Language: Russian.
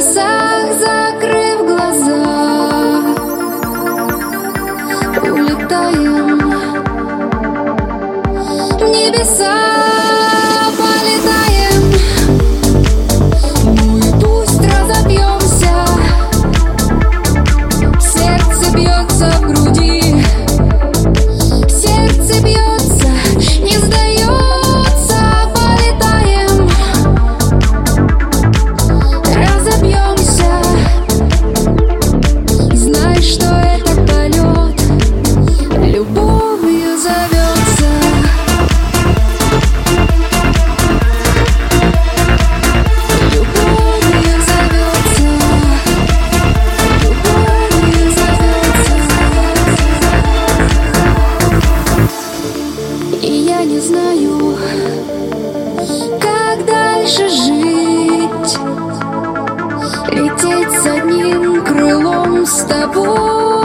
небесах, закрыв глаза, улетаем в небеса, полетаем. Ну и пусть разобьемся, сердце бьется в груди, сердце бьется, не сдается, полетаем, разобьемся. Знай, что этот полет любовью зовется. Любовью зовется. Любовью зовется. И я не знаю, как дальше жить, лететь с одним крылом с тобой.